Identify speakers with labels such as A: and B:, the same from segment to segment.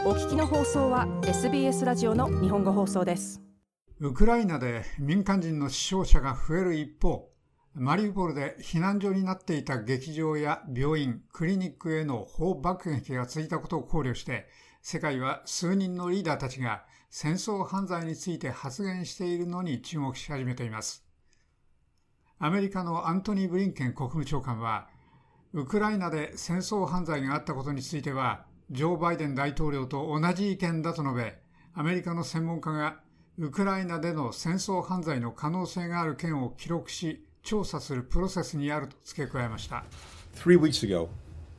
A: お聞きの放送は SBS ラジオの日本語放送です。
B: ウクライナで民間人の死傷者が増える一方、マリウポリで避難所になっていた劇場や病院、クリニックへの砲爆撃が続いたことを考慮して、世界は数人のリーダーたちが戦争犯罪について発言しているのに注目し始めています。アメリカのアントニー・ブリンケン国務長官は、ウクライナで戦争犯罪があったことについては、ジョー・バイデン大統領と同じ意見だと述べ、アメリカの専門家がウクライナでの戦争犯罪の可能性がある件を記録し、調査するプロセスにあると付け加えました。
C: 3 weeks ago,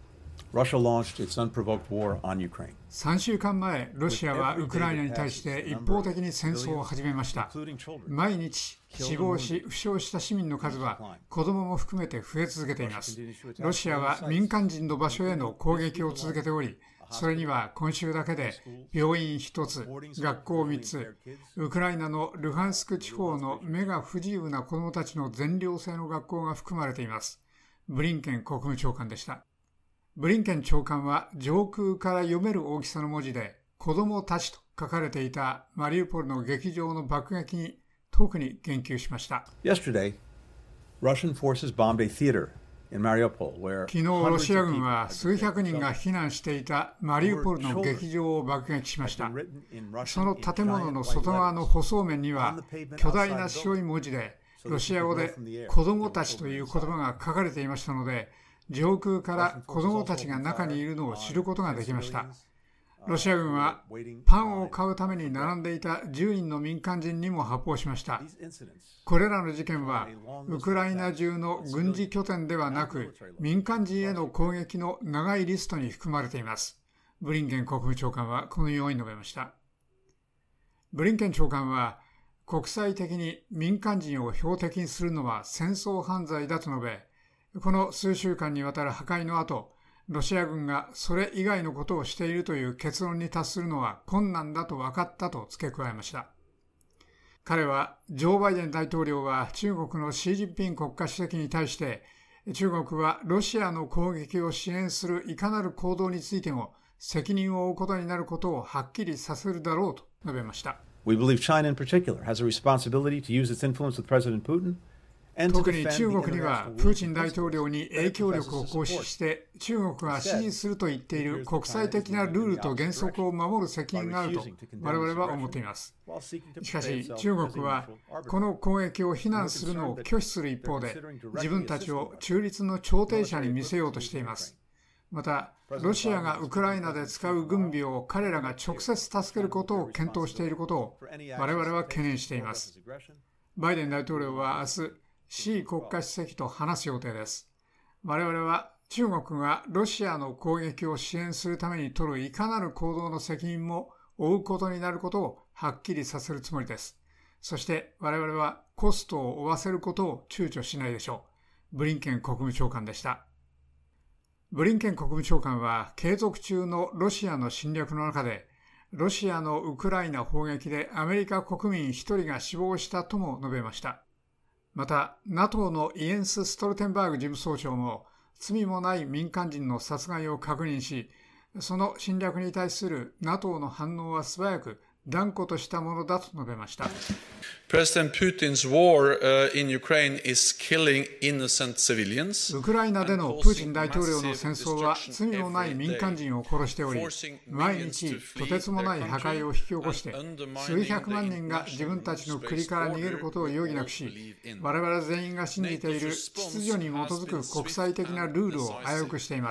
C: Russia launched its unprovoked war on Ukraine.
B: 3週間前、ロシアはウクライナに対して一方的に戦争を始めました。毎日死亡し、負傷した市民の数は子供も含めて増え続けています。ロシアは民間人の場所への攻撃を続けており、それには今週だけで病院1つ、学校3つ、ウクライナのルハンスク地方の目が不自由な子どもたちの全寮制の学校が含まれています。ブリンケン国務長官でした。ブリンケン長官は上空から読める大きさの文字で子どもたちと書かれていたマリウポリの劇場の爆撃に特に言及しました。
C: Yesterday, Russian forces bombed a theater.
B: 昨日、ロシア軍は数百人が避難していたマリウポリの劇場を爆撃しました。その建物の外側の舗装面には巨大な白い文字でロシア語で子供たちという言葉が書かれていましたので、上空から子供たちが中にいるのを知ることができました。ロシア軍はパンを買うために並んでいた10人の民間人にも発砲しました。これらの事件はウクライナ中の軍事拠点ではなく民間人への攻撃の長いリストに含まれています。ブリンケン国務長官はこのように述べました。ブリンケン長官は国際的に民間人を標的にするのは戦争犯罪だと述べ、この数週間にわたる破壊の後、ロシア軍がそれ以外のことをしているという結論に達するのは困難だと分かったと付け加えました。彼は、ジョー・バイデン大統領は中国のシー・ジンピン国家主席に対して、中国はロシアの攻撃を支援するいかなる行動についても責任を負うことになることをはっきりさせるだろうと述べました。
C: We believe China in particular has a responsibility to use its influence with President Putin.
B: 特に中国にはプーチン大統領に影響力を行使して中国が支持すると言っている国際的なルールと原則を守る責任があると我々は思っています。しかし中国はこの攻撃を非難するのを拒否する一方で自分たちを中立の調停者に見せようとしています。またロシアがウクライナで使う軍備を彼らが直接助けることを検討していることを我々は懸念しています。バイデン大統領は明日シー国家主席と話す予定です。我々は中国がロシアの攻撃を支援するために取るいかなる行動の責任も負うことになることをはっきりさせるつもりです。そして我々はコストを負わせることを躊躇しないでしょう。ブリンケン国務長官でした。ブリンケン国務長官は継続中のロシアの侵略の中でロシアのウクライナ砲撃でアメリカ国民1人が死亡したとも述べました。また、NATO のイエンス・ストルテンバーグ事務総長も罪もない民間人の殺害を確認し、その侵略に対する NATO の反応は素早く断固としたものだと述べました。
D: President Putin's war in Ukraine is killing innocent civilians.
B: ウクライナでのプーチン大統領の戦争は罪のない民間人を殺しており、毎日とてつもない破壊を引き起こして、数百万人が自分たちの国から逃げることを余儀なくし、我々全員が信じている秩序に基づく国際的なルールを危うくしています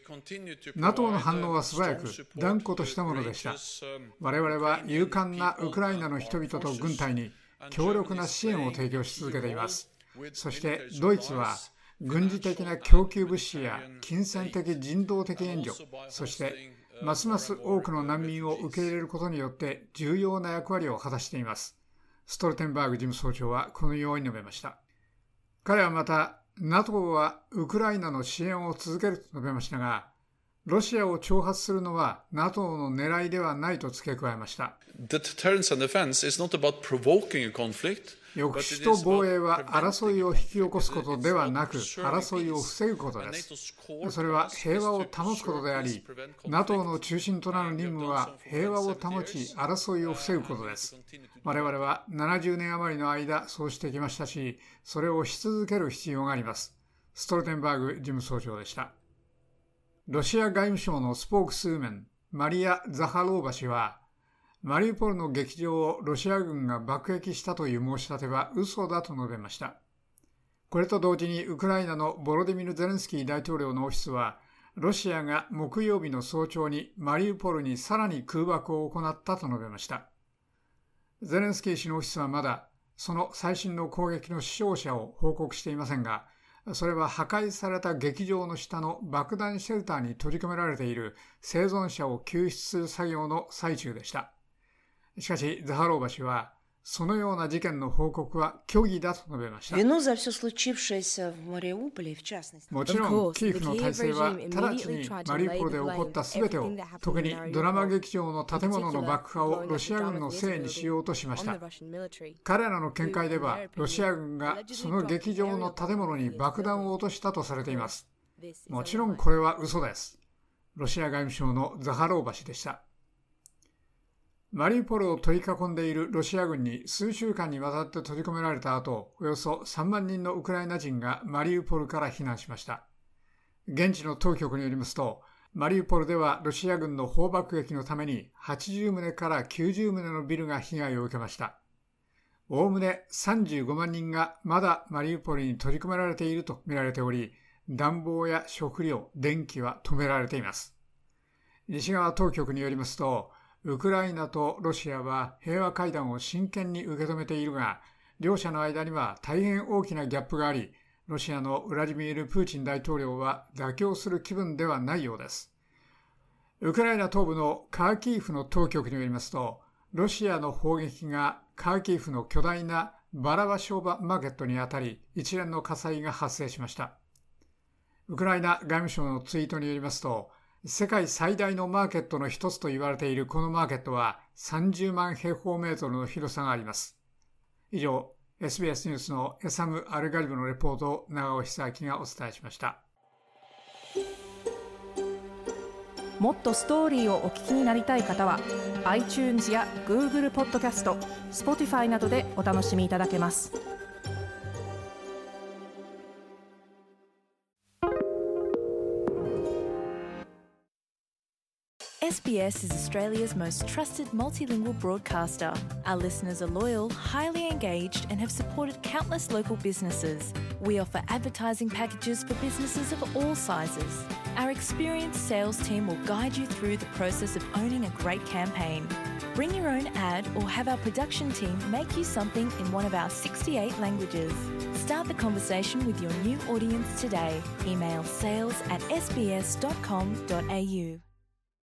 B: 。NATO の反応は素早く断固としたものでした。我々は勇敢なウクライナの人々と軍隊に強力な支援を提供し続けています。そしてドイツは軍事的な供給物資や金銭的人道的援助、そしてますます多くの難民を受け入れることによって重要な役割を果たしています。ストルテンバーグ事務総長はこのように述べました。彼はまた NATO はウクライナの支援を続けると述べましたが、 ロシアを挑発するのは NATO の狙いではないと付け加えました。
D: The deterrence and defense is not about provoking a conflict.
B: 抑止と防衛は争いを引き起こすことではなく、争いを防ぐことです。それは平和を保つことであり、NATO の中心となる任務は平和を保ち、争いを防ぐことです。我々は70年余りの間、そうしてきましたし、それをし続ける必要があります。ストルテンバーグ事務総長でした。ロシア外務省のスポークスウーメン、マリア・ザハローバ氏は、マリウポリの劇場をロシア軍が爆撃したという申し立ては嘘だと述べました。これと同時にウクライナのボロディミル・ゼレンスキー大統領のオフィスは、ロシアが木曜日の早朝にマリウポリにさらに空爆を行ったと述べました。ゼレンスキー氏のオフィスはまだその最新の攻撃の死傷者を報告していませんが、それは破壊された劇場の下の爆弾シェルターに閉じ込められている生存者を救出する作業の最中でした。しかし、ザハローバ氏は、そのような事件の報告は虚偽だと述べました。もちろん、キーフの体制は直ちにマリウポリで起こった全てを、特にドラマ劇場の建物の爆破をロシア軍のせいにしようとしました。彼らの見解では、ロシア軍がその劇場の建物に爆弾を落としたとされています。もちろんこれは嘘です。ロシア外務省のザハローバ氏でした。マリウポリを取り囲んでいるロシア軍に数週間にわたって閉じ込められた後、およそ3万人のウクライナ人がマリウポリから避難しました。現地の当局によりますと、マリウポリではロシア軍の砲爆撃のために80棟から90棟のビルが被害を受けました。おおむね35万人がまだマリウポリに閉じ込められていると見られており、暖房や食料、電気は止められています。西側当局によりますと、ウクライナとロシアは平和会談を真剣に受け止めているが、両者の間には大変大きなギャップがあり、ロシアのウラジミール・プーチン大統領は妥協する気分ではないようです。ウクライナ東部のカーキーフの当局によりますと、ロシアの砲撃がカーキーフの巨大なバラバ商売マーケットに当たり、一連の火災が発生しました。ウクライナ外務省のツイートによりますと、世界最大のマーケットの一つと言われているこのマーケットは30万平方メートルの広さがあります。以上、SBS ニュースのエサム・アルガリブのレポートを長尾久明がお伝えしました。
A: もっとストーリーをお聞きになりたい方は iTunes や Google ポッドキャスト、Spotify などでお楽しみいただけます。
E: SBS is Australia's most trusted multilingual broadcaster. Our listeners are loyal, highly engaged, and have supported countless local businesses. We offer advertising packages for businesses of all sizes. Our experienced sales team will guide you through the process of owning a great campaign. Bring your own ad or have our production team make you something in one of our 68 languages. Start the conversation with your new audience today. Email sales@sbs.com.au.